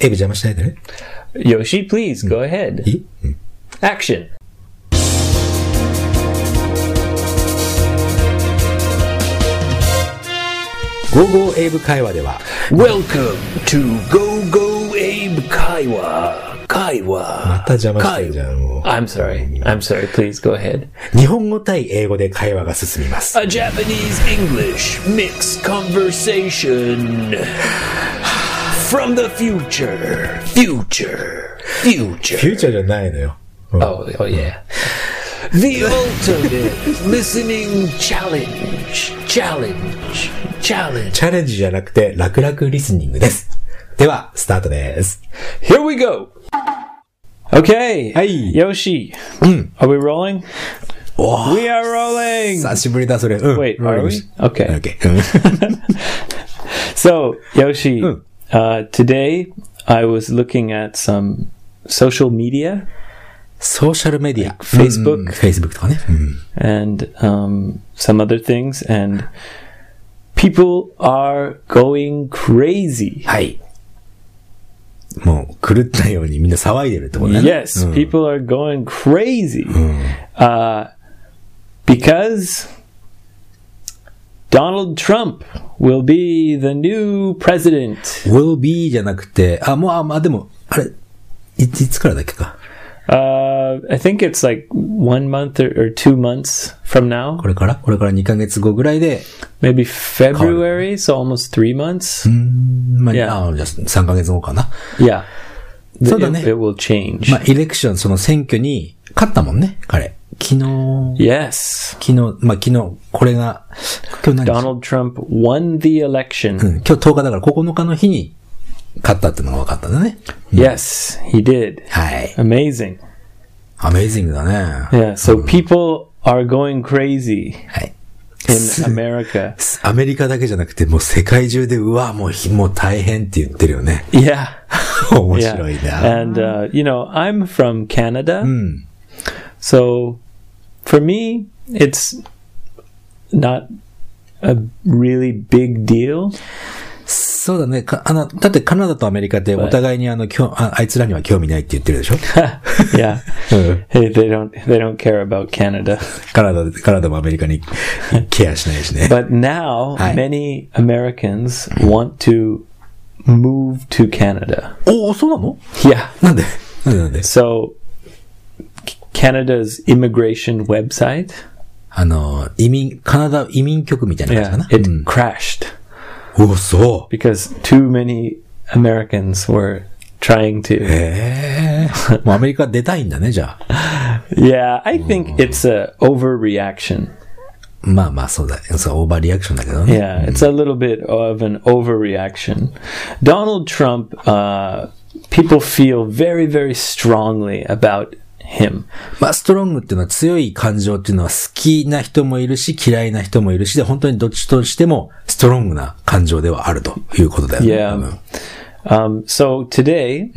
エイブ邪魔しないでね。 Yoshi, please go ahead. いい、うん、 Action. GoGo エイブ会話では Welcome to Go Abe Kaiwa. また邪魔してるじゃん。もう I'm sorry. Please go ahead. 日本語対英語で会話が進みます。 A Japanese English mixed conversation from the future. フューチャーじゃないのよ。 Oh yeah. The ultimate listening challenge. チャレンジじゃなくて楽々リスニングです。ではスタートです。 Here we go. Okay. はい。 Yoshi. Are we rolling? We are rolling. 久しぶりだそれ。 Wait, are we? Okay. Okay. So, Yoshi, today I was looking at some social media. ソーシャルメディア。 Facebook とかね。 and some other things, and people are going crazy. はい。もう狂ったようにみんな騒いでるってことね。 Yes, people are going crazy. Because Donald Trump will be the new president. will be じゃなくて、でも、あれ、いつからだっけか。 I think it's like 1 month or 2 months from now. これから2ヶ月後ぐらいで。 Maybe February, so almost 3 months. じゃあ3ヶ月後かな。 Yeah. そうだね。 It will change. イレクション、その選挙に勝ったもんね、彼。 Yes. 昨日、これが、今日何日 Donald Trump won the election. 今日10日だから9日の日に勝ったっていうのが分かったんだね。 Yes, he did. はい。 Amazing. Amazing だね。 Yeah, so people are going crazy はい。 in America. アメリカだけじゃなくて、もう世界中で、もう大変って言ってるよね。 Yeah. 面白いな。 Yeah. And, I'm from Canada. So, for me, it's not a really big deal. そうだね。だってカナダとアメリカってお互いにあいつらには興味ないって言ってるでしょ Yeah. Hey, they don't care about Canada. カナダもアメリカにケアしないしね。 But now, many Americans want to move to Canada. そうなの Yeah. なんで So, Canada's immigration website. カナダ移民局みたいな感じかな。 It crashed. そう。 Because too many Americans were trying to. もうアメリカ出たいんだね、じゃあ。 Yeah, I think it's a overreaction. そうだ。オーバーリアクションだけどね。 Yeah, it's a little bit of an overreaction. Donald Trump, people feel very, very strongly about him. ストロングっていうのは強い感情っていうのは好きな人もいるし嫌いな人もいるしで本当にどっちとしてもストロングな感情ではあるということだよね。 Yeah. So today,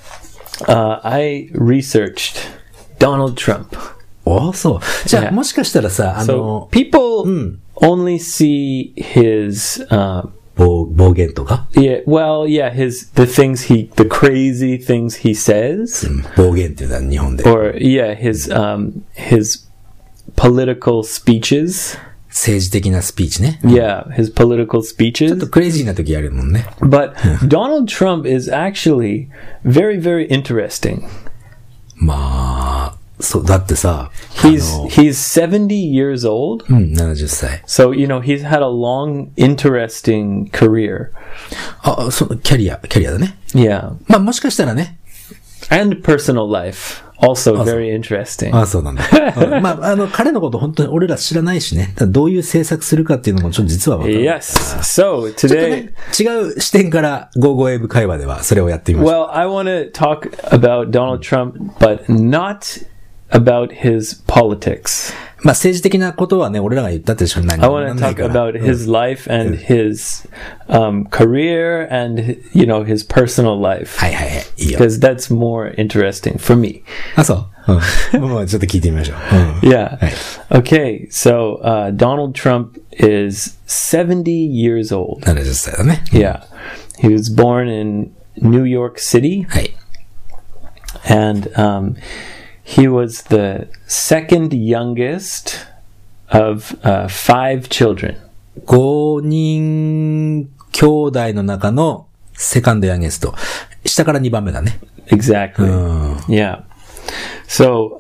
I researched Donald Trump. そう。じゃあ、もしかしたらさ、 So people only see his, 暴言とか the crazy things he says. 暴言っていうのは日本で。 Or, his political speeches. 政治的なスピーチね。 Yeah, his political speeches. ちょっとクレイジーな時あるもんね。 But Donald Trump is actually very, very interesting. そうだってさ、 he's 70 years old. 70歳。 So, he's had a long, interesting career. キャリアだね。 Yeah. もしかしたらね。 And personal life. Also very interesting. そうなんだ。彼のこと本当に俺ら知らないしね。どういう政策するかっていうのもちょっと実はわかる。 Yes. So, today... 違う視点からGoGoエイブ会話ではそれをやってみましょう。 Well, I want to talk about Donald Trump, but not about his politics. 政治的なことはね、俺らが言ったってしょうがない。 I want to talk about his life and his career and, his personal life. はいはいはい。いいよ。 Because that's more interesting for me. そう。もうちょっと聞いてみましょう。 Yeah. Okay. So, Donald Trump is 70 years old. 70歳だね。 Yeah. He was born in New York City. はい。 And he was the second youngest of 5 children. 5人兄弟の中のセカンドヤンゲスト。下から2番目だね。 Exactly. Yeah. So,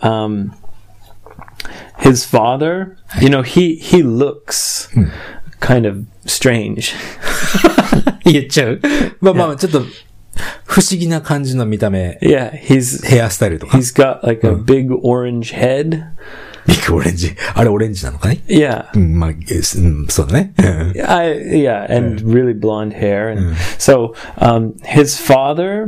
his father, you know, he looks kind of strange. 言っちゃうまあ、ちょっと、不思議な感じの見た目。 Yeah, ヘアスタイルとか。 He's got like a big orange head. ビッグオレンジ。あれオレンジなのかね Yeah. まあ、そうだね。 Yeah, and really blonde hair. And so, his father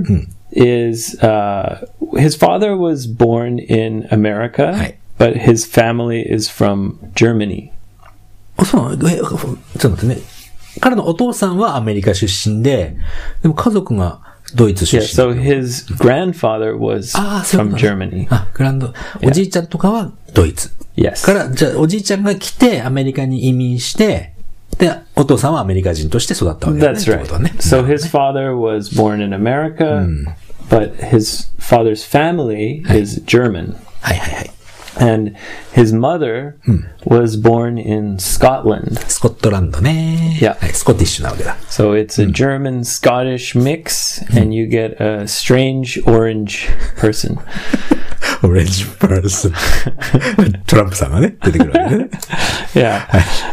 his father was born in America, but his family is from Germany. そうなの？ちょっと待ってね。彼のお父さんはアメリカ出身で、でも家族がドイツ出身。 Yeah, so his grandfather was from Germany. おじいちゃんとかはドイツ。 Yes. から、じゃあおじいちゃんが来てアメリカに移民して、で、お父さんはアメリカ人として育ったわけだね。 That's right. So his father was born in America, but his father's family is German. はいはいはい。 And his mother was born in Scotland. スコットランドね。 Yeah. はい、スコティッシュなわけだ。 So it's a German-Scottish mix, and you get a strange orange person. Orange person. トランプさんがね、出てくるわけね。 Yeah.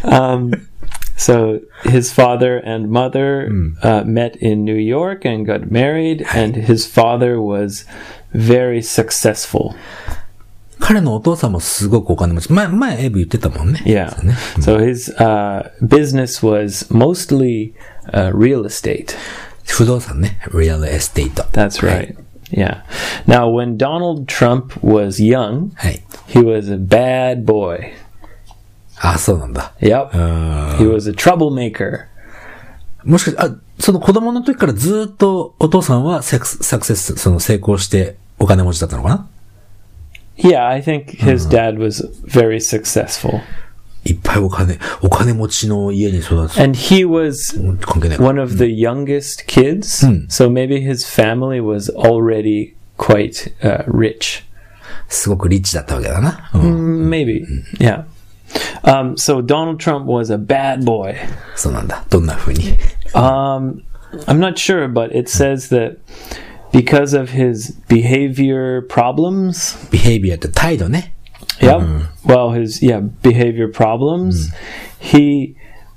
So his father and mother met in New York and got married, and his father was very successful. 彼のお父さんもすごくお金持ち。前エイブ言ってたもんね。 Yeah. So his business was mostly real estate. 不動産ね。real estate. That's right. Yeah. Now, when Donald Trump was young, he was a bad boy. あ、そうなんだ。 Yep. He was a troublemaker. もしかして、その子供の時からずっとお父さんはサクセス、成功してお金持ちだったのかな？ Yeah, I think his dad was very successful. いっぱいお金持ちの家に育つ。 And he was one of the youngest kids, so maybe his family was already quite rich. すごくリッチだったわけだな。 Maybe, yeah. So Donald Trump was a bad boy. そうなんだ。どんな風に I'm not sure, but it says that because of his behavior problems. behavior って態度ね。 Yep. Well, his behavior problems. He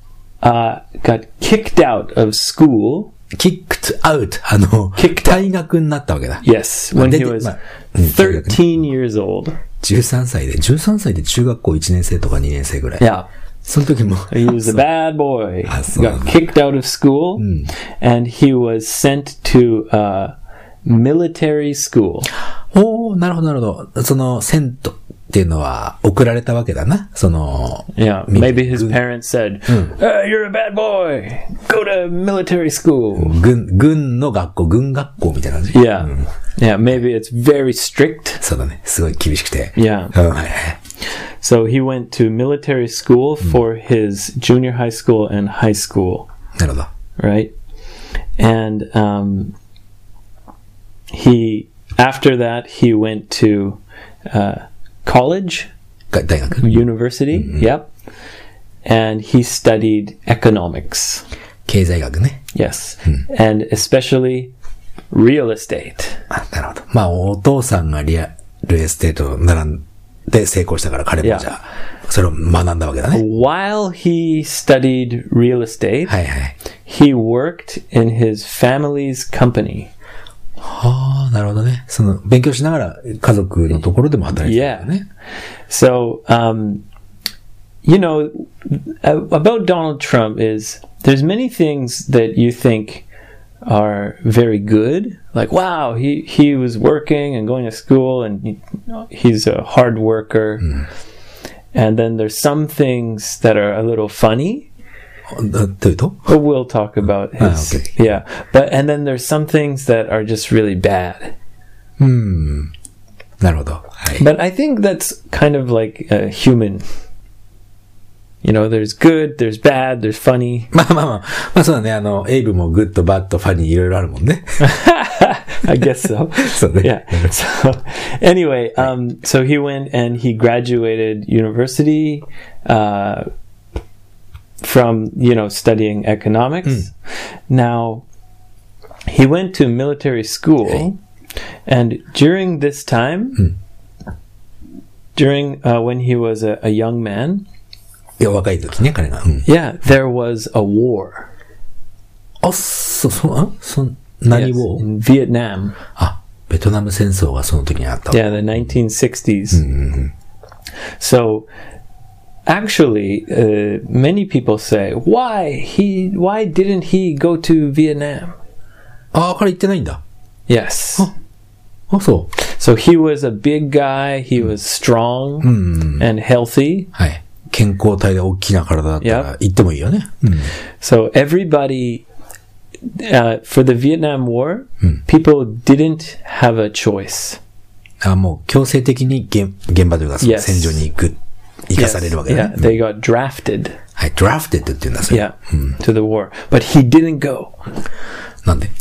got kicked out of school. kicked out. 退学になったわけだ。 Yes, when he was 13 years old. 13歳で中学校1年生とか2年生ぐらい。 Yeah. その時も。 He was a bad boy. Got kicked out of school, and he was sent to military school. おー、なるほどなるほど。そのセントっていうのは送られたわけだな。 Yeah, maybe his parents said, "You're a bad boy. Go to military school." 軍の学校、軍学校みたいな感じ。 Yeah. Yeah, maybe it's very strict. そうだね。すごい厳しくて。 Yeah. So he went to military school for his junior high school and high school. なるほど。 Right? And after that, he went to college, 大学 university, yep. And he studied economics. 経済学ね。 Yes. And especially real estate. なるほど。まあ、お父さんがリアルエステート並んで成功したから彼もじゃあ、それを学んだわけだね。 While he studied real estate, はいはい。 he worked in his family's company. はあ、なるほどね。勉強しながら家族のところでも働いてたんだね。 So, you know, about Donald Trump is there's many things that you think are very good. Like, wow, he was working and going to school and he's a hard worker. And then there's some things that are a little funny. But we'll talk about his, yeah. And then there's some things that are just really bad. なるほど。はい。 But I think that's kind of like human. You know, there's good, there's bad, there's funny. まあそうだね。エイブもグッド、バッド、ファニーいろいろあるもんね。 I guess so. そうね。 Yeah. So anyway, so he went and he graduated university, from, studying economics. Now, he went to military school, and during this time, when he was a young man, いや、若い時ね、彼が。 yeah, there was a war. あ、何 Yes, を in Vietnam. あ、ベトナム戦争がその時にあった。 Yeah, the 1960s. So, actually, many people say, why didn't he go to Vietnam? あ、彼行ってないんだ。 Yes. あ、そう。 So he was a big guy, he was strong and healthy. はい。健康体で大きな体だったら行ってもいいよね。 So everybody, for the Vietnam War, people didn't have a choice. あ、もう強制的に現場というか、その戦場に行かされるわけだね。 Yeah, they got drafted. はい、drafted って言うんだ、それ。 Yeah, to the war. But he didn't go. なんで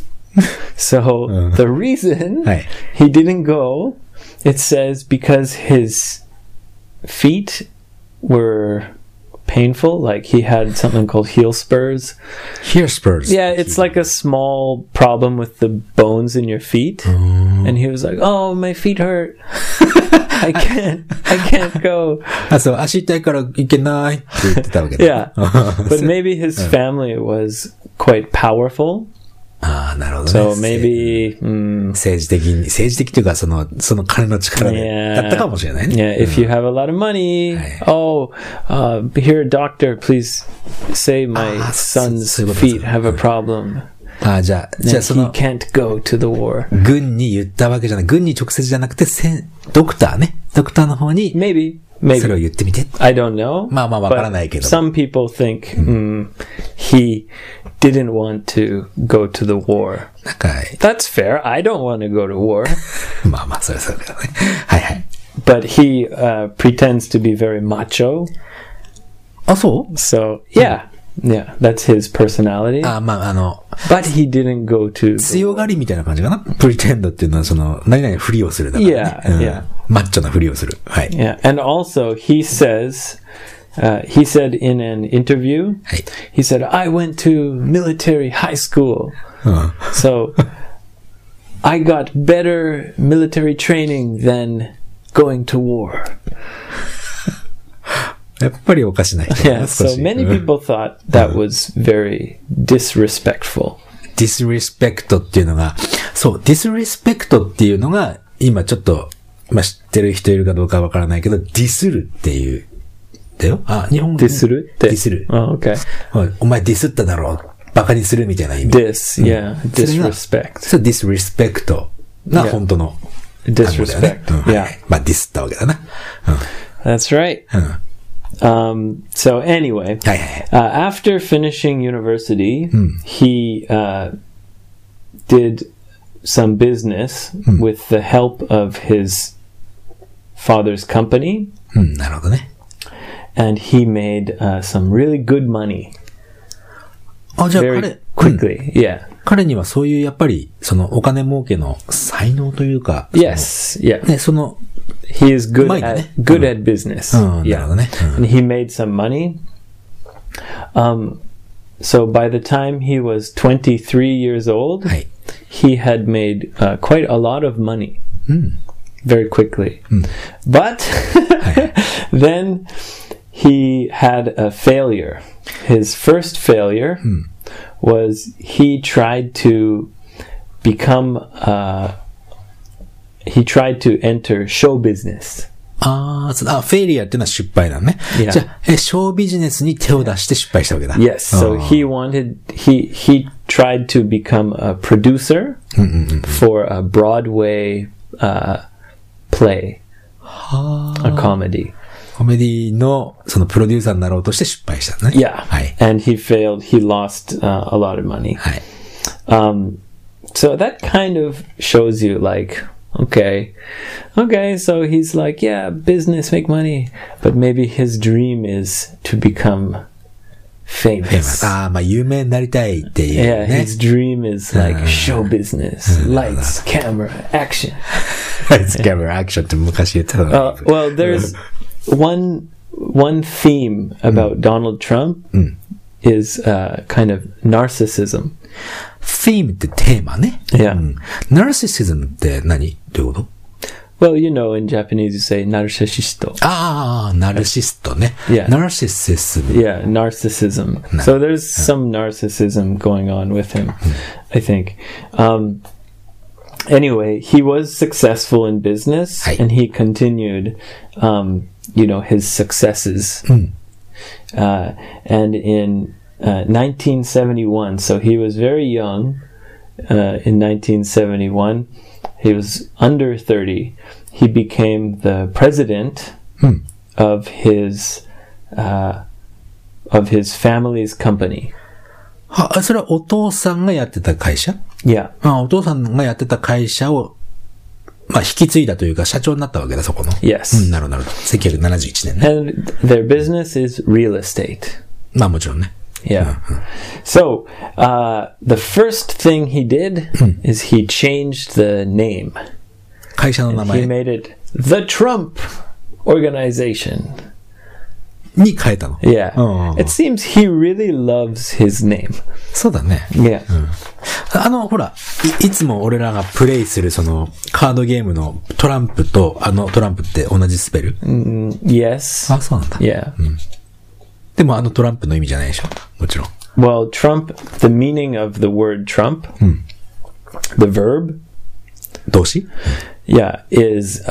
So the reason he didn't go, it says because his feet were painful, like he had something called heel spurs. Heel spurs? Yeah, it's like a small problem with the bones in your feet. And he was like, oh, my feet hurt. I can't go. あ、そう、足痛いから行けないって言ってたわけだ。 Yeah. But maybe his family was quite powerful. ああ、なるほどね。 So maybe, 政治的というか、その金の力で、だったかもしれないね。 Yeah, if you have a lot of money, here, doctor, please say my son's feet have a problem. ああ、じゃあその、 he can't go to the war. 軍に言ったわけじゃない。軍に直接じゃなくて、ドクターの方に、 Maybe. それを言ってみて。 I don't know. まあわからないけど。 Some people think he didn't want to go to the war. なんか、 That's fair. I don't want to go to war. まあ、それだね。はいはい。 But he pretends to be very macho. あ、そう So, yeah, that's his personality. あ、まあ、 But he didn't go to... 強がりみたいな感じかな ?pretend っていうのは、何々ふりをするだからね。 Yeah. マッチョなふりをする。はい。 Yeah, and also he said in an interview, he said, I went to military high school. So, I got better military training than going to war. やっぱりおかしな人だな。 Yeah, so many people thought that was very disrespectful. disrespect っていうのが、そう、disrespect っていうのが、今ちょっと、まあ、知ってる人いるかどうかわからないけど、ディスるっていう、だよ。あ、日本語ディスるって。 ディスる。 Oh, okay. お前ディスっただろう。バカにするみたいな意味。 Yeah, disrespect. そう、disrespect が本当の。 disrespect. Yeah. まあ、ディスったわけだな。 That's right. So anyway, after finishing university, he did some business with the help of his father's company. なるほどね。 And he made some really good money. あ、じゃあ very quickly. Yeah. 彼にはそういうやっぱりそのお金儲けの才能というか。 Yes. Yeah. ね、その He is good at business. Yeah. And he made some money. So by the time he was 23 years old, he had made quite a lot of money very quickly. But then he had a failure. His first failure was he tried to enter show business. フェイリアっていうのは失敗なのね。じゃあ、ショービジネスに手を出して失敗したわけだ。 Yes, so he tried to become a producer for a Broadway play, a comedy. コメディのそのプロデューサーになろうとして失敗したのね。 Yeah, and he failed. He lost a lot of money. So that kind of shows you, like, okay. Okay, so he's like, yeah, business, make money. But maybe his dream is to become famous. ああ、まあ有名になりたいっていう Yeah, ね。 his dream is like show business, lights, camera, action. Lights, camera, action って昔言ってたの。 Well, there's one theme about Donald Trump is kind of narcissism. フィームってテーマね。 Yeah. ナルシシズムって何どういうこと Well, you know, in Japanese you say narcissist. ああ、ナルシストね。 Yeah. ナルシシズム。 Yeah, narcissism. So there's some narcissism going on with him, I think. Anyway, he was successful in business, Hi. and he continued, his successes. And in 1971, so he was very young in 1971. He was under 30. He became the president of his family's company. は、それはお父さんがやってた会社 Yeah. あ、お父さんがやってた会社を、まあ、引き継いだというか、社長になったわけだ、そこの。 Yes. なるほど、なるほど。1971年ね。 And their business is real estate. まあ、もちろんね。 Yeah. So, the first thing he did is he changed the name. 会社の名 He 前 made it the Trump Organization. に変えたの。 Yeah. Oh. It seems he really loves his name. そうだね。 Yeah. ほら、いつも俺らがプレイするその、カードゲームのトランプと、トランプって同じスペル Yes. あ、そうなんだ。 Yeah. でもトランプの意味じゃないでしょもちろん。 Well, Trump, the meaning of the word Trump, the verb, 動詞 yeah, is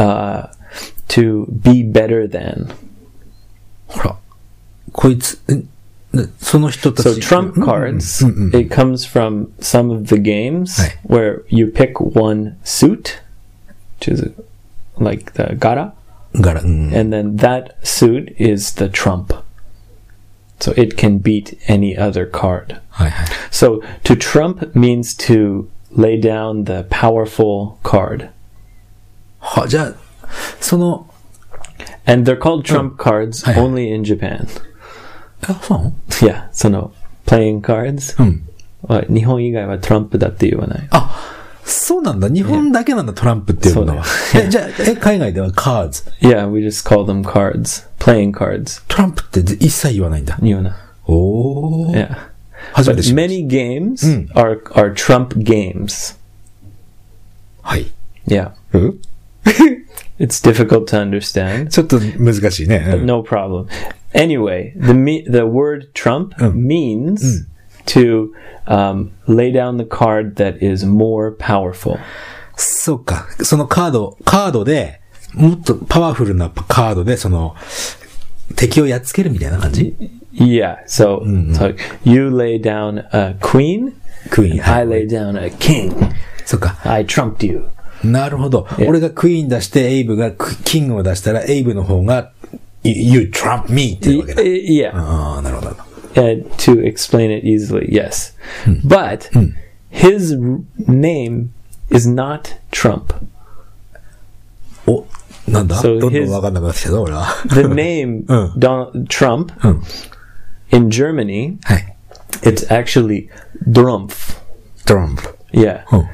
to be better than. ほら、こいつ、その人たち。 So trump cards, it comes from some of the games Right. where you pick one suit, which is like the gara, 柄、 and then that suit is the trump. So it can beat any other card. はいはい。 So to trump means to lay down the powerful card. は、じゃあ、その、 And they're called trump cards Hi. only in Japan. そうなの Yeah, so no. Playing cards? 日本以外はトランプだって言わない。 そうなんだ。日本だけなんだ、トランプっていうのは。じゃあ、海外ではカーズ。 Yeah, we just call them cards. Playing cards. トランプって一切言わないんだ。 言わない。 おー。 Yeah. 初め But て知りまし many games are trump games. た。はい。 Yeah. うん It's difficult to understand. ちょっと難しいね。うん No problem. Anyway, the word trump means to lay down the card that is more powerful. そうか。そのカードで、もっとパワフルなカードで、その、敵をやっつけるみたいな感じ Yeah, so, so you lay down a queen, クイーン。 I lay down a king. そうか。 I trumped you. なるほど。俺がクイーン出して、エイブがキングを出したら、エイブの方が、You trump me っていうわけだ。 Yeah. ああ、なるほど。 To explain it easily, yes. But his name is not Trump. お、なんだ So どんどんわかんなくなってきたぞ、俺は。 The name Donald Trump in Germany, はい。 it's actually Drumpf. トランプ。 Yeah. Oh.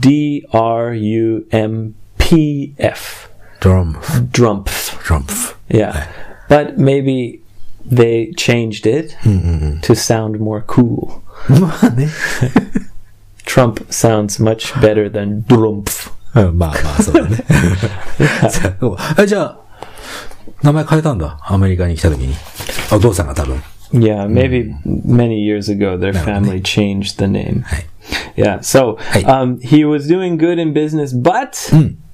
D-R-U-M-P-F. トランプ。 Drumpf. トランプ。 Yeah. But maybe they changed it to sound more cool. まあね。 Trump sounds much better than Drumpf. うんまあまあ、そうだね。そうじゃあ、名前変えたんだ。アメリカに来た時に。お父さんが多分。 Yeah, maybe many years ago their family changed the name. はい。 Yeah, so Hey. he was doing good in business, but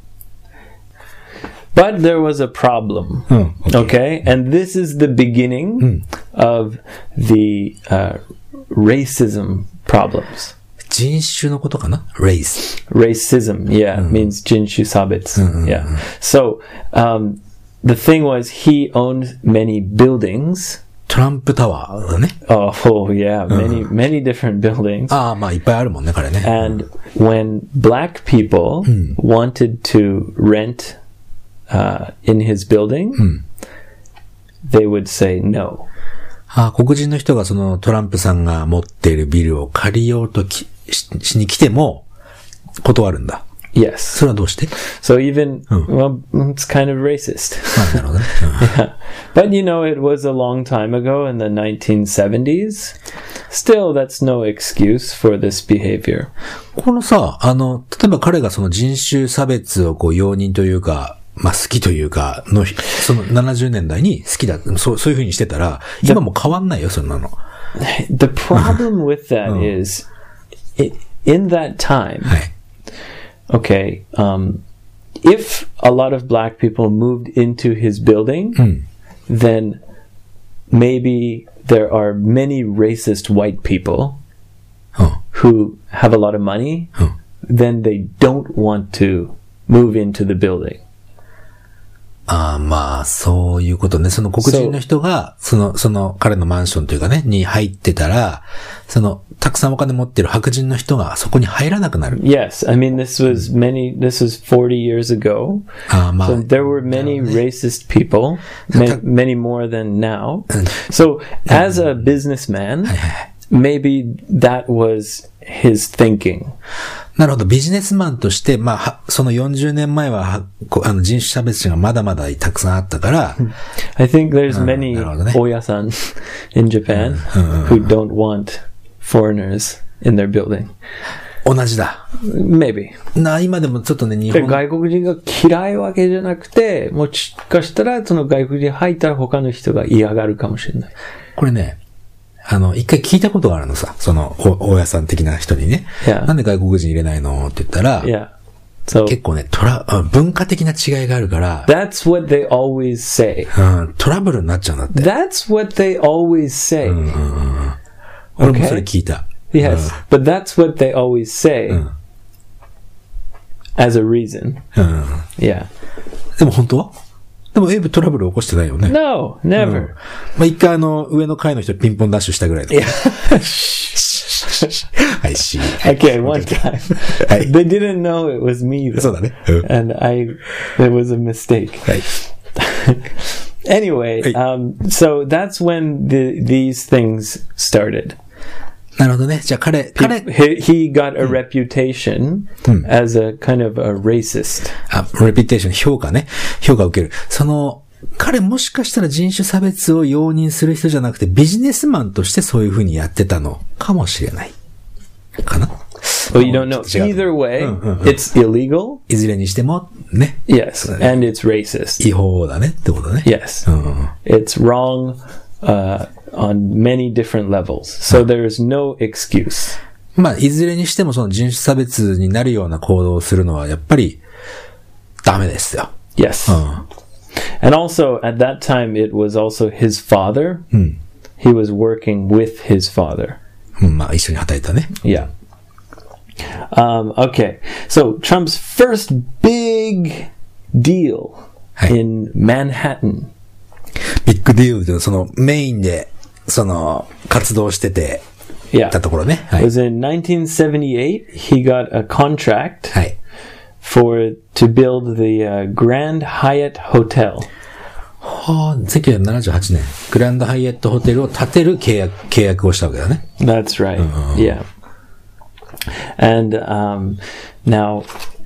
there was a problem. Okay, and this is the beginning of the racism problems. 人種のことかな ?race. Racism, yeah, means jinshu sabits. Yeah. So the thing was, he owned many buildings. トランプタワーだね。 Oh, yeah, many different buildings. ああ、まあいっぱいあるもんね、彼ね。 And when black people wanted to rent in his building, they would say no. 黒人の人がそのトランプさんが持っているビルを借りようとしに来ても断るんだ。 Yes. それはどうして？ So even, well, it's kind of racist. なるほどね。 Yeah. But you know, it was a long time ago in the 1970s. Still, that's no excuse for this behavior. このさ、例えば彼がその人種差別を容認というか、まあ好きというかの、その70年代に好きだ、そういう風にしてたら、今も変わんないよ、そんなの。 The problem with that is, in that time, はい。 okay, if a lot of black people moved into his building, then maybe there are many racist white people who have a lot of money, then they don't want to move into the building. まあ、そういうことね。その黒人の人が、その彼のマンションというかね、に入ってたら、たくさんお金持ってる白人の人がそこに入らなくなる。 Yes, I mean, this was 40 years ago. まあ、 so there were many racist people, many more than now. So as a businessman, maybe that was his thinking. なるほど。ビジネスマンとして、まあ、その40年前は、人種差別者がまだまだたくさんあったから、 I think there's many Oya-san in Japan who don't want foreigners in their building. 同じだ。 Maybe. 今でもちょっとね、日本。 外国人が嫌いわけじゃなくて、もしかしたらその外国人入ったら他の人が嫌がるかもしれない。 これね、一回聞いたことがあるのさ、その、大家さん的な人にね。 Yeah. なんで外国人入れないのって言ったら、 yeah. so, 結構ね、文化的な違いがあるから、 That's what they always say. トラブルになっちゃうんだって。 That's what they always say. 俺もそれ聞いた。 Yes, but that's what they always say as a reason. Yeah. でも本当は？でもエイブトラブル起こしてないよね。 No, never. まあ、一回上の階の人ピンポンダッシュしたぐらいだ。I see. Okay, one time. They didn't know it was me though. そうだね。 And it was a mistake. Anyway, so that's when these things started. なるほどね。じゃあ彼 he got a reputation as a kind of a racist. reputation 評価を受ける。彼もしかしたら人種差別を容認する人じゃなくてビジネスマンとしてそういう風にやってたのかもしれない。かな？ Well, you don't know. Either way, it's illegal. いずれにしてもね。 Yes, and it's racist. 違法だねってことね。 Yes. It's wrong on many different levels. So there's no excuse. まあ、いずれにしてもその人種差別になるような行動をするのはやっぱりダメですよ。 Yes. And also, at that time, it was also his father. He was working with his father. まあ、一緒に働いたね。 Yeah. Okay. So, Trump's first big deal in Manhattan. ビッグディールで、メインで、活動してて、たところね。 It was in 1978. He got a contract. はい。 to build the Grand Hyatt Hotel. 1978年、グランドハイエットホテルを建てる契約をしたわけだね。 That's right. Yeah. And now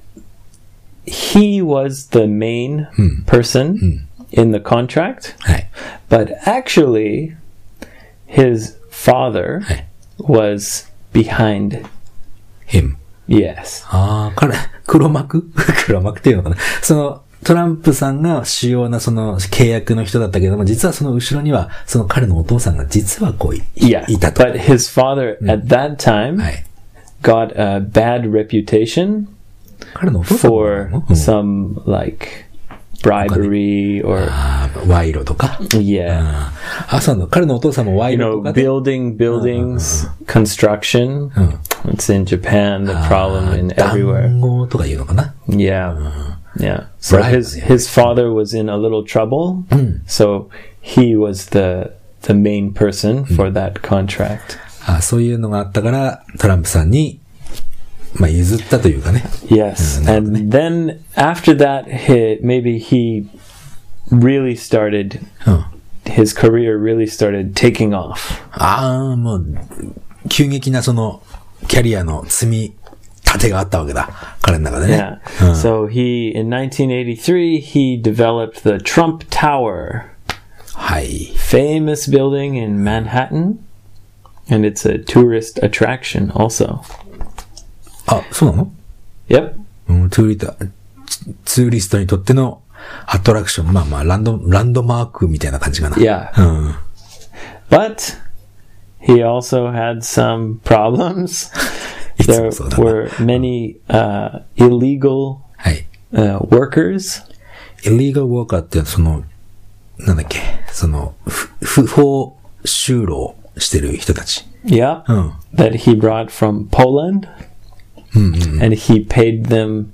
he was the main person in the contract. はい。 But actually, his father was behind him. Yes. 黒幕っていうのかな。トランプさんが主要な契約の人だったけども、実はその後ろには、彼のお父さんが実はいたと。 But his father at that time got a bad reputation for some bribery or 賄賂とか。 Yeah. そうなの。彼のお父さんも賄賂とか。 buildings, construction. It's in Japan, the problem in everywhere. 談合とか言うのかな。 Yeah. Yeah. So his father was in a little trouble. So he was the the main person for that contract. そういうのがあったから、トランプさんに、まあ、譲ったというかね。 Yes. And then after that, maybe he really started, his career really started taking off. もう、急激なその、キャリアの積み立てがあったわけだ。彼の中でね。 Yeah. So in 1983, he developed the Trump Tower. はい。 Famous building in Manhattan. And it's a tourist attraction also. そうなの？ Yep. ツーリストにとってのアトラクション。まあ、ランドマークみたいな感じかな。 Yeah. But he also had some problems. There were many illegal workers. Illegal worker ってその、なんだっけ、その、不法就労してる人たち。 Yeah. That he brought from Poland. And he paid them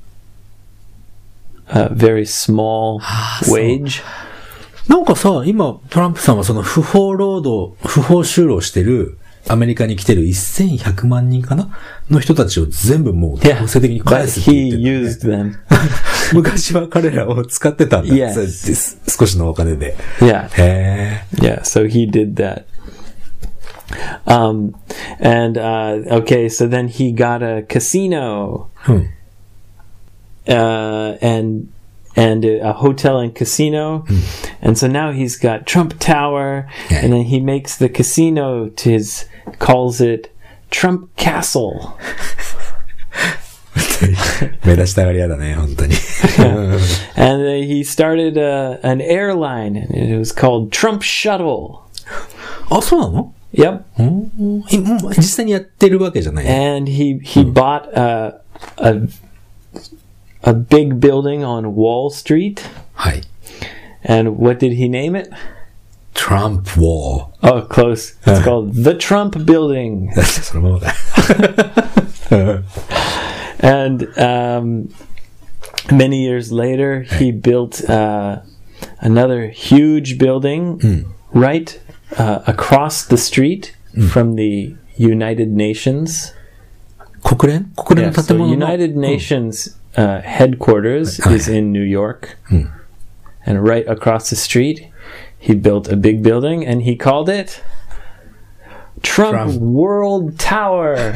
a very small wage. なんかさ、今、トランプさんはその不法就労してる、アメリカに来てる1100万人かなの人たちを全部もう強制的に返すって言って、 He used them. 昔は彼らを使ってたんだ。 Yes. 少しのお金で。 Yeah. へー。 Yeah, so he did that. Okay, so then he got a casino. And a hotel and casino. And so now he's got Trump Tower, and then he makes the casino calls it Trump Castle. 目立ちたがり屋だね、本当に。 And he started an airline, and it was called Trump Shuttle. そうなの？ Yep. 実際にやってるわけじゃない。 And he bought a big building on Wall Street. はい。 And what did he name it? Trump Wall. Oh, close. It's called the Trump Building. そのままだ。 And many years later, he built another huge building right across the street from the United Nations. 国連の建 So 物の United Nations headquarters is in New York. And right across the street, he built a big building, and he called it Trump World Tower.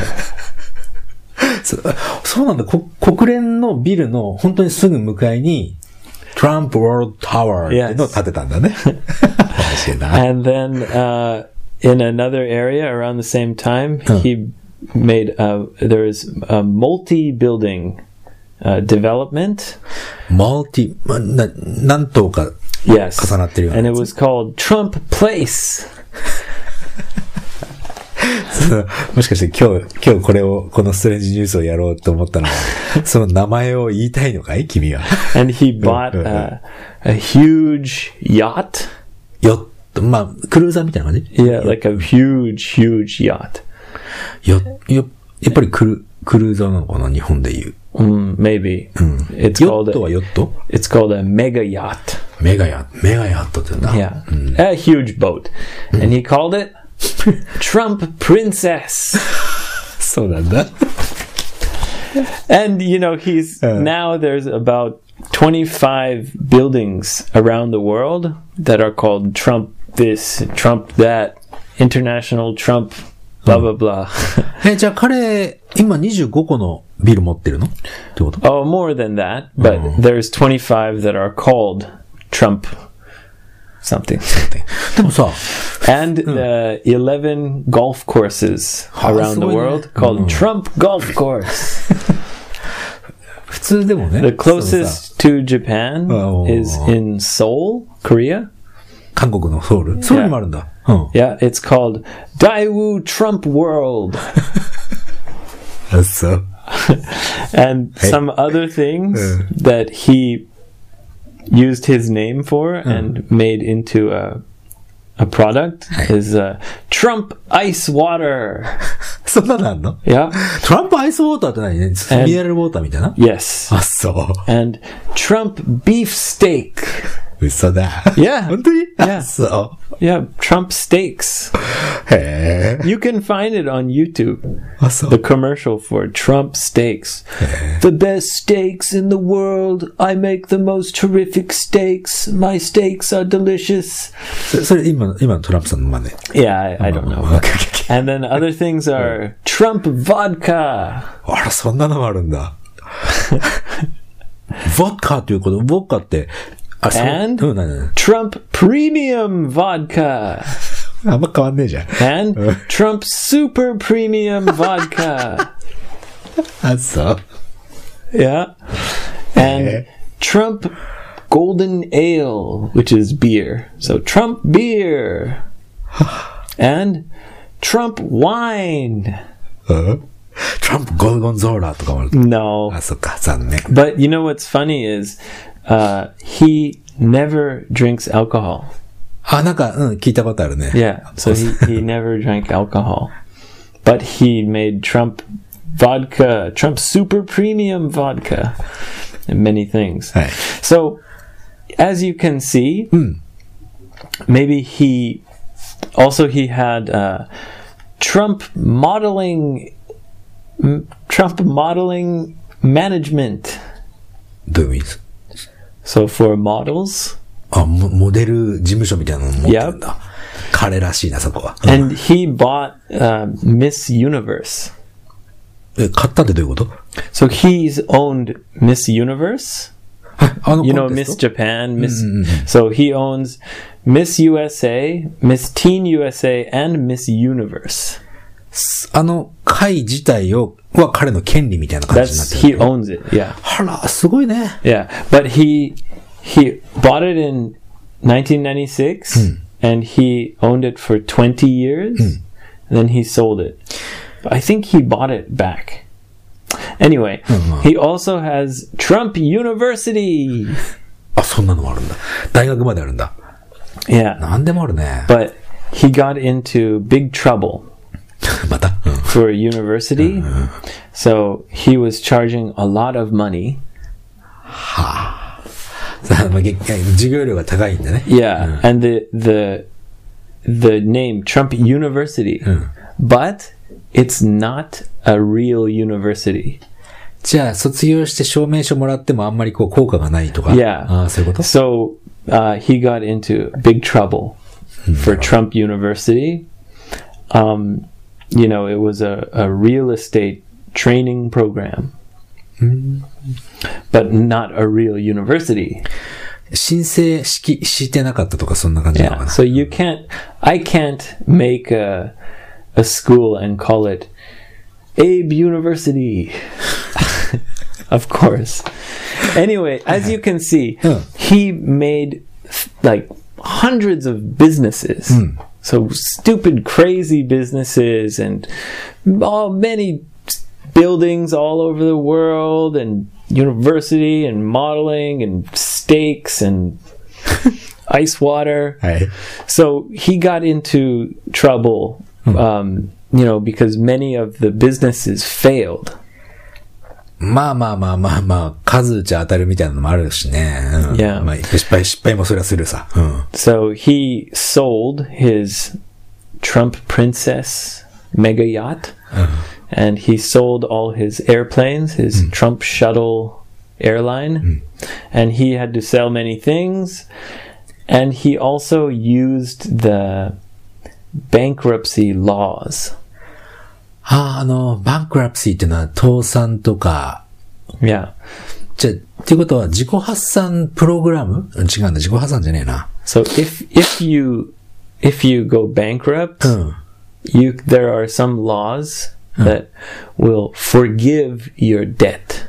そうなんだ。国連のビルの本当にすぐ向かいに Trump World Tower っていうのを建てたんだね。 And then in another area around the same time, he made there is a multi-building development. 何棟か重なってるような。 And it was called Trump Place. もしかして今日このストレンジニュースをやろうと思ったのは、その名前を言いたいのかい君は。 And he bought a huge yacht. まあ、クルーザーみたいな感じ？ Yeah, like a huge yacht. やっぱりクルーザーなのかな日本で言う。 Maybe. It's ヨットはヨット？ It's called a mega yacht. メガヤットって言うんだ。 Yeah. A huge boat. And he called it Trump Princess. そうなんだ。 And, now there's about 25 buildings around the world that are called Trump this, Trump that, International Trump, blah, blah, blah. じゃあ彼、今25個のビル持ってるのってこと？ Oh, more than that. But there's 25 that are called Trump something. でもさ、 And 11 golf courses around the world called Trump Golf Course. 普通でもね。 The closest to Japan is in Seoul, Korea. 韓国のソウル。ソウルにもあるんだ。 Yeah, it's called Daewoo Trump World. そう。 And some other things that he used his name for and made into a product is Trump Ice Water. そんなのあんの？ Yeah. トランプアイスウォーターって何？ミネラルウォーターみたいな？ Yes. そう。 And Trump Beef Steak. 嘘だ。 Yeah. 本当に Yeah. そ Yeah, Trump steaks. う。へえ。 You can find it on YouTube. あ、そう The。commercial for Trump steaks. The best steaks in the world. I make the most terrific steaks. My steaks are delicious. それ今のトランプさんの真似。 Yeah, I don't know. Okay, okay, okay. And then other things are Trump vodka. あら、そんなのもあるんだ。ボッカということ、ボッカって、あ、そう。 And うん、何 Trump premium vodka. あんま変わんねえじゃん。 And Trump super premium vodka. あ、そう。 Yeah. And Trump golden ale, which is beer. So Trump beer. And Trump wine. うんトランプゴルゴンゾーラとかもある。 No. あ、そっか、残念。 But you know what's funny is he never drinks alcohol. あ、なんか、聞いたことあるね。 Yeah. So he never drank alcohol. But he made Trump vodka, Trump super premium vodka, and many things. はい。 So, as you can see, maybe he had Trump modeling management. どういう意味です So for models, あ、モデル事務所みたいなの持ってるんだ。彼らしいな、そこは。 and he bought Miss Universe. 買ったってどういうこと So he's owned Miss Universe. あの You コ know ンテス Miss ト Japan, Miss. So he owns Miss USA, Miss Teen USA, and Miss Universe. あの会自体は彼の権利みたいな感じになっ That's て he る。 owns it. Yeah, あら、すごいね。 yeah. But he bought it in 1996, and he owned it for 20 years, and then he sold it. But I think he bought it back. Anyway, he also has Trump University. あ、そんなのもあるんだ。大学まであるんだ。 Yeah, なんでもあるね。 but he got into big trouble また、 for a university. So he was charging a lot of money. 授業料が高いんだね。 Yeah, and the name Trump University, but it's not a real university. じゃあ、卒業して証明書もらってもあんまりこう効果がないとか。 Yeah. ああ、そういうこと So he got into big trouble for Trump University. You know, it was a real estate training program, but not a real university. 申請してなかったとかそんな感じなのか Yeah. な。 So I can't make a school and call it Abe University. Of course. Anyway, as you can see, he made like hundreds of businesses. So stupid, crazy businesses and many buildings all over the world and university and modeling and steaks and ice water. はい。 So he got into trouble, you know, because many of the businesses failed. まあ、数打ち当たるみたいなのもあるしね。 Yeah. まあ、失敗もそれはするさ。 So he sold his Trump Princess mega yacht, and he sold all his airplanes, his Trump shuttle airline, and he had to sell many things. And he also used the bankruptcy laws. バンクラプシーっていうのは倒産とか、 Yeah. じゃあ、っていうことは自己発産プログラム違うんだ、自己発産じゃねえな。 So if you go bankrupt, there are some laws that will forgive your debt.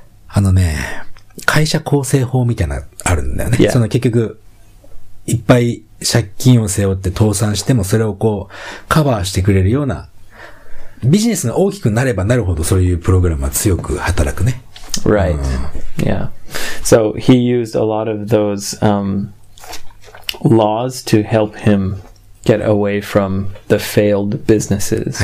会社構成法みたいなのあるんだよね。 Yeah. その結局、いっぱい借金を背負って倒産してもそれをこう、カバーしてくれるような、ビジネスが大きくなればなるほどそういうプログラムは強く働くね。 Right. Yeah. So he used a lot of those laws to help him get away from the failed businesses.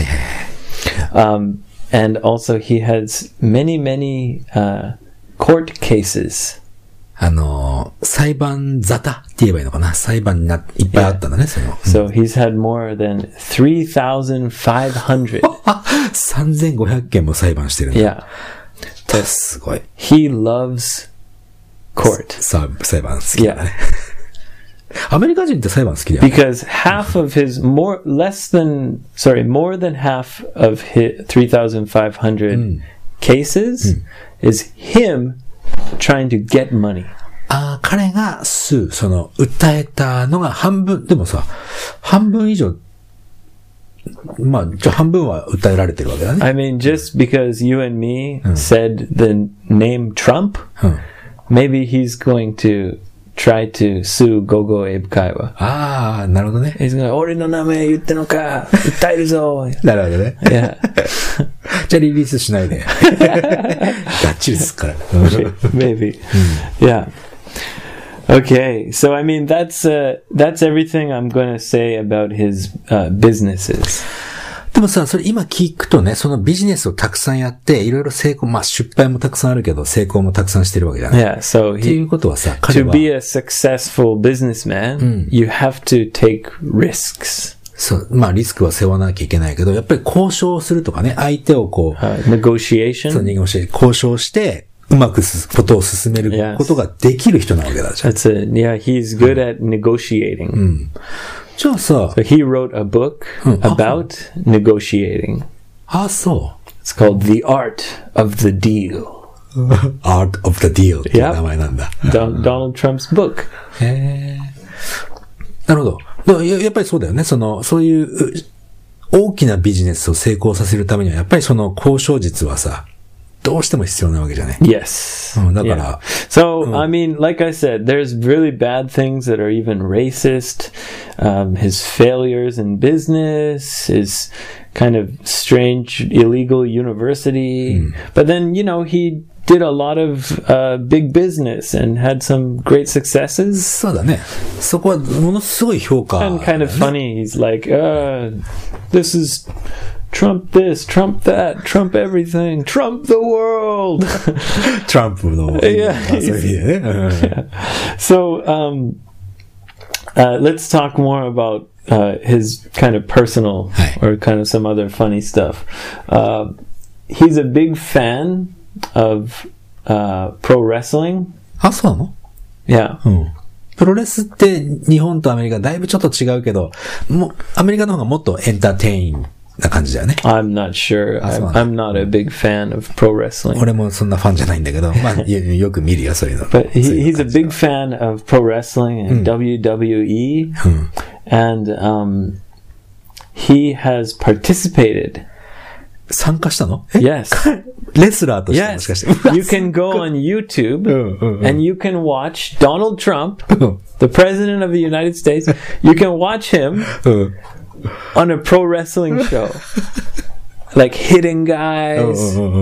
And also he has many court cases. 裁判沙汰って言えばいいのかな。裁判にいっぱいあったんだね、その。 So he's had more than 3,500. 3500件も裁判してるんだ。 Yeah. すごい。 He loves court. 裁判好きだね。アメリカ人って裁判好きだよね。 Because more than half of his 3,500 cases is him trying to get money. 彼が訴えたのが半分、でもさ、半分以上、まあ、半分は訴えられてるわけだね。 I mean, just because you and me said the name Trump, maybe he's going to try to sue Gogo Abe Kaiwa. なるほどね。 He's going, 俺の名前言ってのか、訴えるぞ。 なるほどね。 Yeah. じゃあリリースしないで。がっちりすっから。 Maybe. Yeah. Okay, so I mean that's everything I'm going to say about his businesses. でもさ、それ今聞くとね、そのビジネスをたくさんやって、いろいろ成功、まあ失敗もたくさんあるけど、成功もたくさんしてるわけじゃない。 Yeah, so っていうことはさ、彼 to は be a successful businessman, you have to take risks. そう、まあリスクは背負わなきゃいけないけど、やっぱり交渉するとかね、相手をこう、 negotiation. そう、交渉して、うまくことを進めることができる人なわけだじゃん。 He's good at negotiating. じゃあさ、 So he wrote a book about negotiating. そう。 It's called The Art of the Deal. Art of the Deal っていう名前なんだ。 Donald Trump's book. なるほど。やっぱりそうだよね。そういう大きなビジネスを成功させるためには、やっぱりその交渉術はさ、どうしても必要なわけじゃね。 Yes. だから。 So, I mean, like I said, there's really bad things that are even racist. His failures in business, his kind of strange illegal university. But then, he did a lot of big business and had some great successes. そうだね。そこはものすごい評価。 And kind of funny. He's like, this is Trump this, Trump that, Trump everything, Trump the world. トランプの。 Yeah. そういう意味でね。 So, let's talk more about his kind of personal or kind of some other funny stuff. He's a big fan of pro wrestling. そうなの？ Yeah. プロレスって日本とアメリカだいぶちょっと違うけど、アメリカの方がもっとエンターテインな感じだよね。 I'm not sure. I'm not a big fan of pro wrestling. 俺もそんなファンじゃないんだけど、まあよく見るよそういうの。 But he's a big fan of pro wrestling and WWE, and he has participated. 参加したの ？Yes. レスラーとしてもしかして。 Yes. You can go on YouTube and you can watch Donald Trump, the president of the United States. You can watch him on a pro wrestling show. Like hitting guys.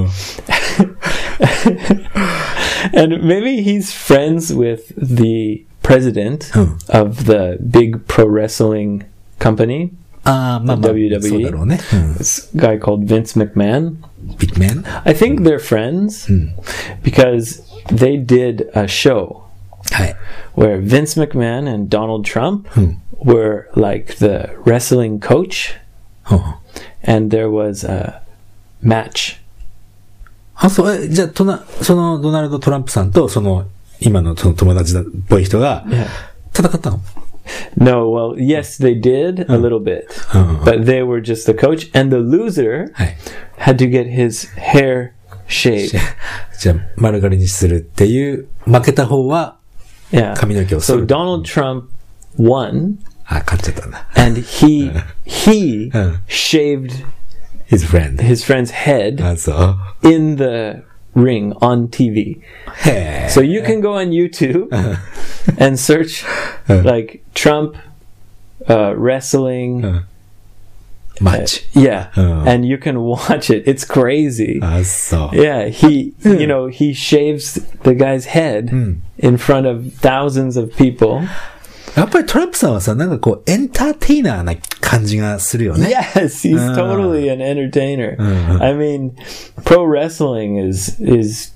And maybe he's friends with the president of the big pro wrestling company. WWE. そうだろうね。 This guy called Vince McMahon. Big Man? I think they're friends because they did a show where Vince McMahon and Donald Trump were like the wrestling coach, and there was a match. そう、じゃあ、そのドナルド・トランプさんと、今のその友達っぽい人が、戦ったの ？No, well, yes, they did a little bit, but they were just the coach, and the loser had to get his hair shaved. じゃあ、丸刈りにするっていう、負けた方は、髪の毛を剃る。 So Donald Trump won. 勝っちゃったんだ。 And he shaved his friend's head in the ring on TV. So you can go on YouTube and search like Trump wrestling match. And you can watch it. It's crazy. Yeah, he shaves the guy's head in front of thousands of people. やっぱりトランプさんはさ、なんかこう、エンターテイナーな感じがするよね。 Yes, he's totally an entertainer. I mean, pro wrestling is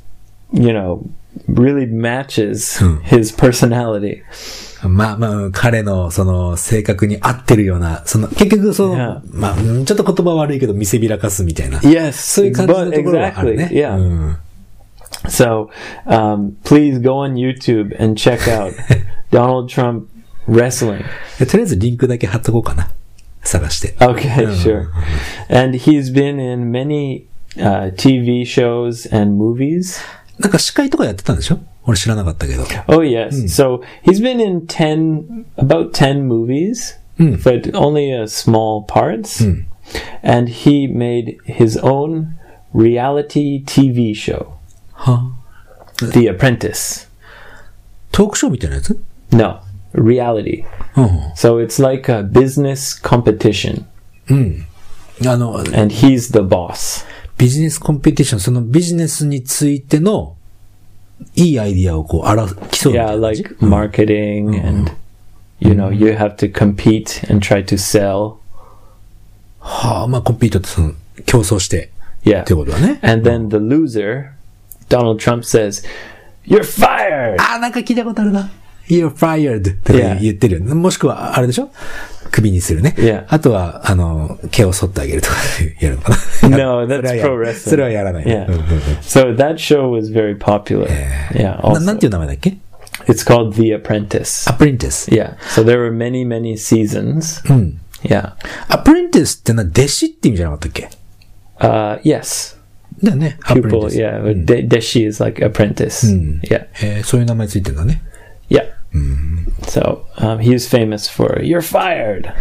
really matches his personality. まあ、彼のその性格に合ってるような、結局 Yeah. まあ、ちょっと言葉悪いけど見せびらかすみたいな。 Yes, そういう感じのところはあるね。 exactly. Yeah. うん So, please go on YouTube and check out Donald Trump wrestling. とりあえずリンクだけ貼っとこうかな。探して。 Okay, sure. And he's been in many TV shows and movies. なんか司会とかやってたんでしょ？俺知らなかったけど。 Oh, yes. So he's been in about 10 movies, but only small parts. And he made his own reality TV show, は The Apprentice. トークショーみたいなやつ？ No, reality. うん。 So it's like a business competition, あの、 and he's the boss. ビジネスコンペティション、そのビジネスについてのいいアイディアをこう、競うみたい Yeah, な感じ。 like marketing, and you have to compete and try to sell. はあ、まあコンピートってその、競争して、 Yeah. ってことだね。 And then the loser, Donald Trump says, "You're fired." あ、なんか聞いたことあるな。You're fired って言ってるよね。もしくは、あれでしょ？クビにするね。 Yeah. あとは、毛を剃ってあげるとかやるのかな。 No, that's それはや pro る wrestling. それはやらない。 Yeah. うんうんうん So that show was very popular. Yeah. な Also, なんていう名前だっけ？ it's called The Apprentice. アプリンティス。 Yeah. So there were many, many seasons. Yeah. アプリンティスってのは弟子って意味じゃなかったっけ？ Yes. だよね。アプリンテ Pupil. ィス。 Yeah. Deshi is like apprentice. Yeah. そういう名前ついてんだね。 Yeah. So he was famous for "You're fired."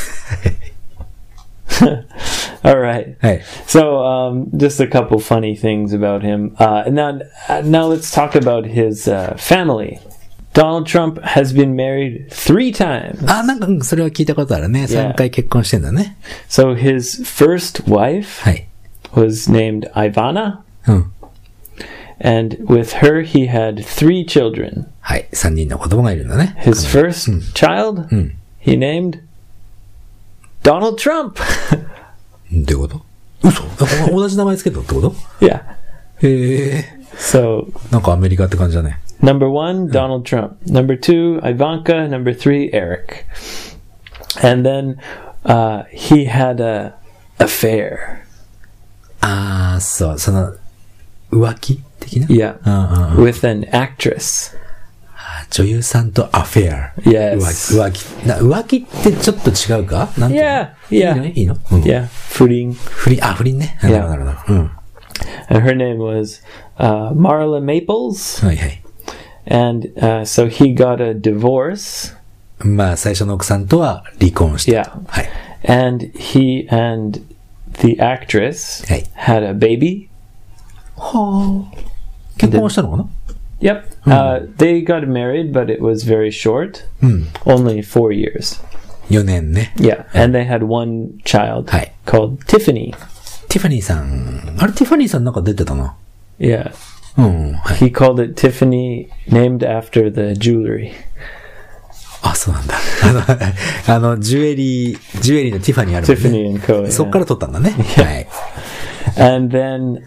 All right. はい。 So just a couple funny things about him. And now let's talk about his family. Donald Trump has been married 3 times. あ、なんか、それは聞いたことあるね。3回結婚してんだね。 So his first wife はい。 was named Ivana, うん。 and with her he had 3 children. はい。3人の子供がいるんだね。 His first child he named Donald Trump. どういうこと？嘘？同じ名前つけたってこと？ Yeah. へえ。 So なんかアメリカって感じだね。 number 1, Donald Trump. Number 2, Ivanka. Number 3, Eric. And then he had a affair. あー、そう、その、浮気的な？ Yeah. うんうんうん。 With an actress. 女優さんとアフェア。 Yes. 浮気ってちょっと違うか？なんていうの？ Yeah, yeah. いいの？うん Yeah. Fruiting. 不倫ね。なるほど、なるほど。うん。 And her name was Marla Maples. はいはい。 And so he got a divorce. まあ、最初の奥さんとは離婚して。 Yeah. はい。 And he and the actress Hey. had a baby. はあ。結婚したのかな？ Yep. They got married, but it was very short. Only 4 years. 4年ね。 Yeah. And they had one child Hey. called Tiffany. ティファニーさん。あれ、ティファニーさんなんか出てたな。 Yeah. うん。はい。 He called it Tiffany, named after the jewelry. あ、そうなんだ。ジュエリーのティファニーあるもんね。 Tiffany and Co. そっ yeah. から撮ったんだね。はい。 And then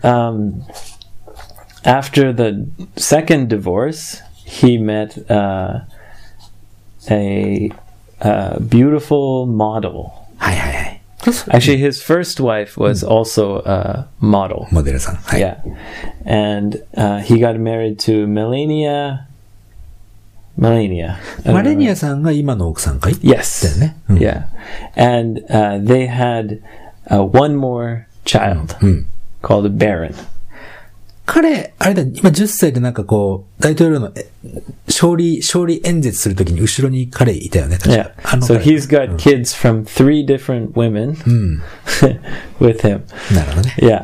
after the second divorce, he met a beautiful model. はいはいはい。 Actually, his first wife was also a model. モデルさん。はい。 Yeah. And he got married to Melania. I don't マレ know. ニアさんが今の奥さんかい？ Yes. だよね。うん Yeah. And they had one more child called Baron. 彼、あれだ、今10歳でなんかこう、大統領の勝利演説するときに後ろに彼いたよね、確 Yeah. か。 So 彼 he's got kids from 3 different women with him. なるほどね。 Yeah.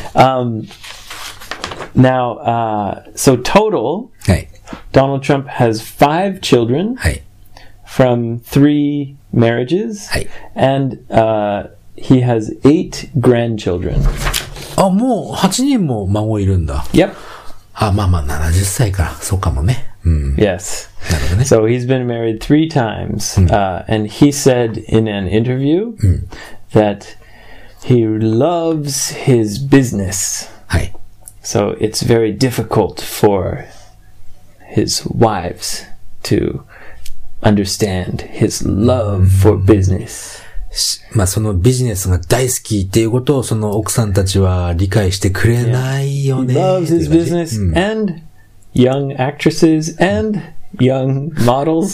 Now, so total, はい。 Donald Trump has 5 children はい。 from 3 marriages, はい。 and he has 8 grandchildren. あ、もう8人も孫いるんだ。 Yep. あ、まあまあ70歳か。そうかもね。うん。 Yes. なるほどね。 So he's been married 3 times, and he said in an interview that he loves his business. はい。 So it's very difficult for his wives to understand his love for business. まあそのビジネスが大好きっていうことをその奥さんたちは理解してくれないよ He ね。 loves his business and young actresses and young models.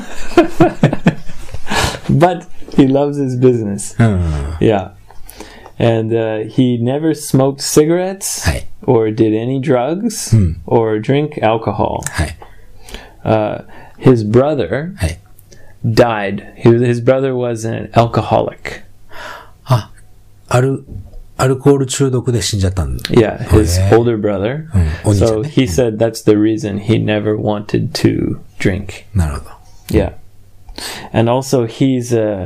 But he loves his business. うん。 Yeah. And he never smoked cigarettes はい。 or did any drugs or drink alcohol. はい。 His brother はい。 died. His brother was an alcoholic. あ、アルコール中毒で死んじゃったんだ。 Yeah, his yeah. older brother. お兄ちゃん So ね。 he said that's the reason he never wanted to drink. なるほど。 Yeah. And also he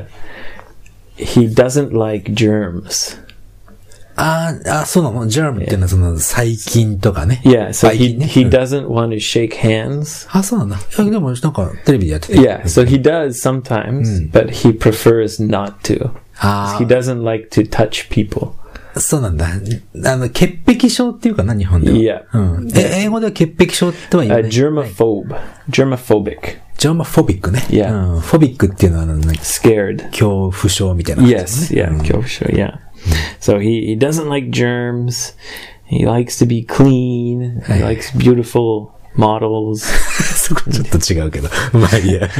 doesn't like germs. そうなの？ジャームっていうのはその細菌とかね。 Yeah, so 細菌ね。 he doesn't want to shake hands. そうなんだ。いやでもなんかテレビでやってて。 Yeah, so he does sometimes, but he prefers not to. He doesn't like to touch people. そうなんだ。潔癖症っていうかな、日本では。 Yeah. うん。英語では潔癖症っては言わない。 Germaphobic. ジャーマフォビックね。 Yeah. うん。フォビックっていうのは Scared. 恐怖症みたいな感じですね。 Yes, yeah, Kyosho, yeah. So he doesn't like germs. He likes to be clean. He likes beautiful models. そこちょっと違うけど。まあいいや。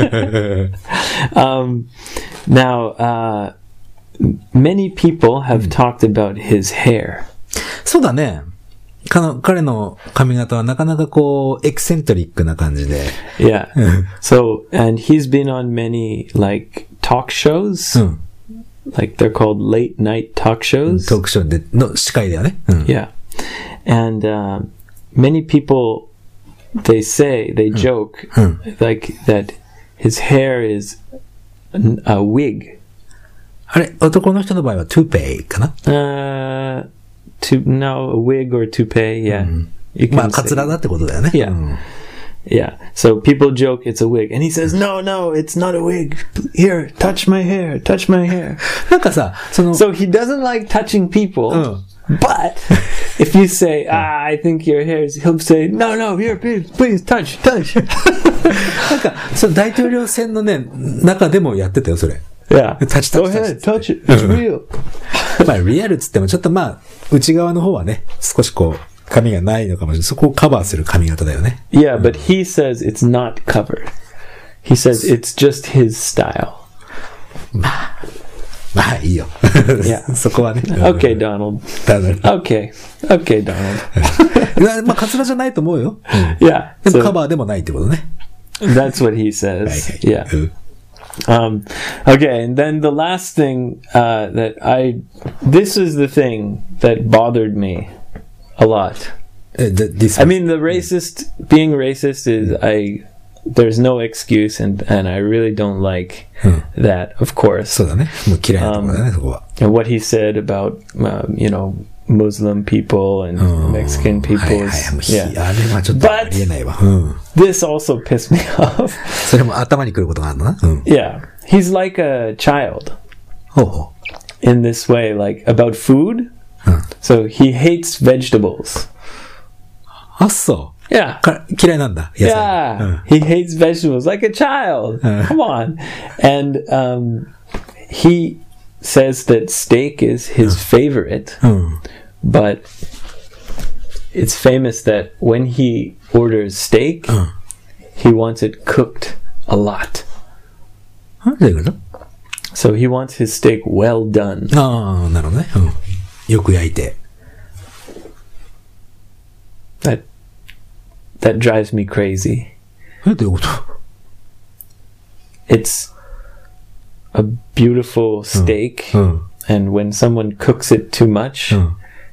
Now, many people have talked about his hair. そうだね。彼の髪型はなかなかこう、エキセントリックな感じで。 Yeah. So, and he's been on many, like, talk shows. うん。 Like, they're called late night talk shows. トークショーでの司会だよね。うん。 Yeah. And many people, they joke, like, that his hair is a wig. あれ、男の人の場合はトゥーペイかな？ No, a wig or toupee, yeah. You まあ、 can カツ say. ラだってことだよね。 Yeah. うん Yeah. So people joke it's a wig. And he says, no, it's not a wig. Here, touch my hair, touch my hair. なんかさ、 So he doesn't like touching people. But if you say, I think your hair is, he'll say, no, here, please, touch. なんか、大統領選のね、中でもやってたよ、それ。 Yeah. Touch, Go ahead, touch it. It's real. まあ、リアルっつっても、ちょっとまあ、内側の方はね、少しこう、髪がないのかもしれない。そこをカバーする髪型だよね。 Yeah, but he says it's not covered. He says it's just his style. まあ、いいよ。 Yeah. そこはね。 Okay, Donald. だね。 Okay, Donald. まあ、カツラじゃないと思うよ。 Yeah. でもカ So バーでもないってことね。 that's what he says. Yeah. うん Okay, and then the last thing this is the thing that bothered me a lot. This I mean, being racist is, there's no excuse, and I really don't like that, of course. そうだね。もう嫌いなところだね、そこは。 And what he said about, Muslim people and Mexican はいはい people. もう Yeah. あれはちょっとありえないわ。うん。 This also pissed me off. それも頭に来ることがあるのな。うん。 Yeah. He's like a child ほうほ in this way, like about food. So he hates vegetables. う。あ、そう。 Yeah. 嫌いなんだ。野菜。 Yeah. He hates vegetables like a child. Come on. And he says that steak is his favorite. うん。 But it's famous that when he orders steak, he wants it cooked a lot. どういうこと？ So he wants his steak well done. ああ、なるほどね。うん。よく焼いて。 That drives me crazy. どういうこと？ It's a beautiful steak, うん。 and when someone cooks it too much, うん。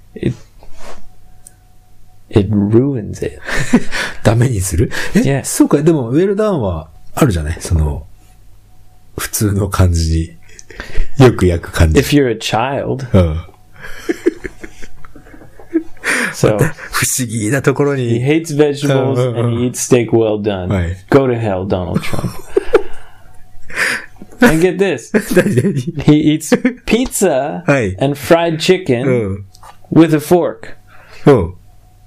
it ruins it. ダメにする？ Yeah. そうか。でも、ウェルダウンはあるじゃない？普通の感じによく焼く感じ。 If you're a child, うん。 so 不思議なところ he に。 hates vegetables and he eats steak well done. Right. Go to hell, Donald Trump. And get this. 何何？ He eats pizza Hey. and fried chicken うん。 with a fork. うん。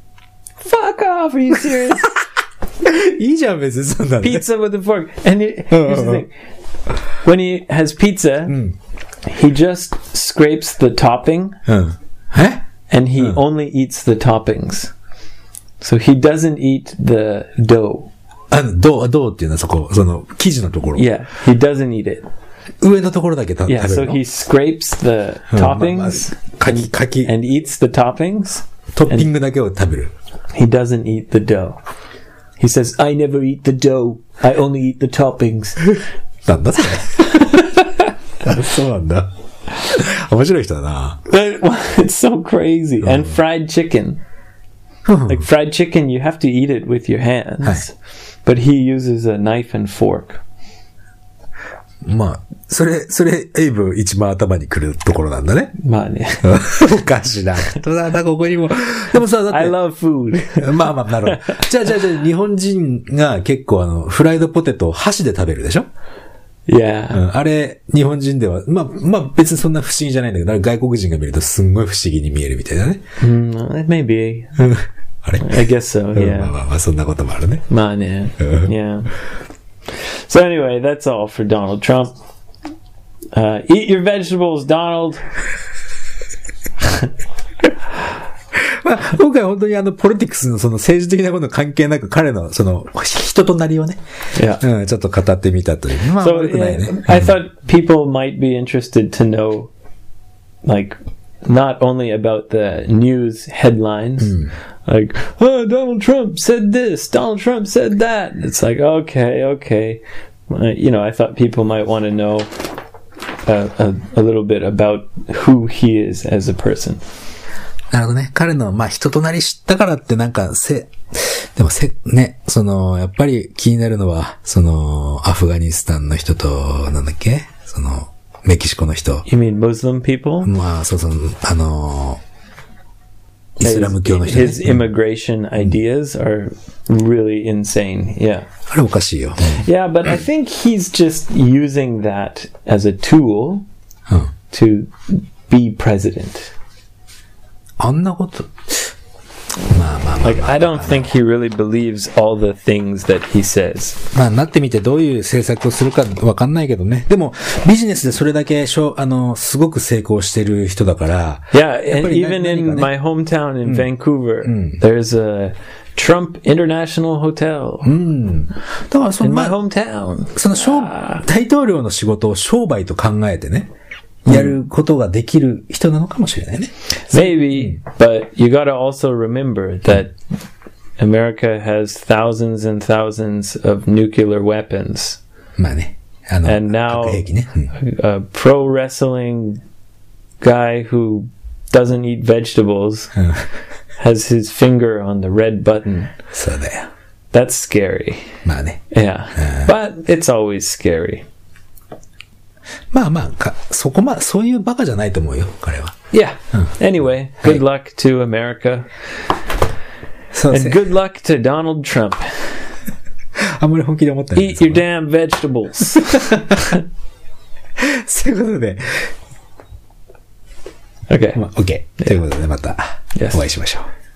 Fuck off! Are you serious? いいじゃん、別にそんなのね。 Pizza with a fork. And here's the thing: when he has pizza, he just scrapes the topping, うん。え and he only eats the toppings. So he doesn't eat the dough. どうっていうのはそこ、その、生地のところ。 Yeah, he doesn't eat it. 上のところだけ食べ Yeah, る so の。 he scrapes the toppings かき、 and eats the toppings. トッピングだけを食べる。 He doesn't eat the dough. He says, "I never eat the dough. I only eat the toppings." なんだそれ。そうなんだ。面白い人だな。 But, it's so crazy. And fried chicken. Like fried chicken, you have to eat it with your hands. But he uses a knife and fork. まあ、それ、エイブ一番頭に来るところなんだね。 まあね。 おかしなことだな、ここにも。でもさ、だって。 I love food. まあ、なるほど。じゃあ、日本人が結構フライドポテトを箸で食べるでしょ Yeah. あれ、日本人では、まあ別にそんな不思議じゃないんだけど、外国人が見るとすんごい不思議に見えるみたいなね。 Maybe. あれ I guess so, yeah. まあ、そんなこともあるね。 まあね。Yeah. So anyway, that's all for Donald Trump. Eat your vegetables, Donald. まあ、今回本当にポリティクスのその政治的なこと関係なく彼のその人となりをね、 Yeah. ちょっと語ってみたという。まあ、 So 悪くないね。 I thought people might be interested to know, like, not only about the news headlines, like, oh, Donald Trump said this, Donald Trump said that. It's like, okay. I thought people might want to know a little bit about who he is as a person. なるほどね。彼の、まあ、人となり知ったからってなんか、ね、やっぱり気になるのは、アフガニスタンの人と、なんだっけメキシコの人。 You mean Muslim people? まあ、イスラム教の人、ね。 His immigration ideas are really insane. Yeah. あれおかしいよ。 Yeah, but I think he's just using that as a tool to be president. あんなこと。 Like, I don't think he really believes all the things that he says. まあ、なってみてどういう政策をするかわかんないけどね。でも、ビジネスでそれだけすごく成功してる人だから。 Yeah, and even in my hometown in Vancouver, there's a Trump International Hotel. だから in my hometown. 大統領の仕事を商売と考えてね。やることができる人なのかもしれないね。 Maybe, but you gotta also remember that America has thousands and thousands of nuclear weapons. まあね。 And now, 核兵器ね。 a pro wrestling guy who doesn't eat vegetables has his finger on the red button. そうだよ。 That's scary. まあね。 Yeah. But it's always scary. まあ、そういうバカじゃないと思うよ、彼は。 Yeah. Anyway, good luck to America. そうです And ね。 good luck to Donald Trump. あんまり本気で思ってない。 Eat your damn vegetables. そういうことで。 Okay. まあ、OK。ということで、またお会いしましょう。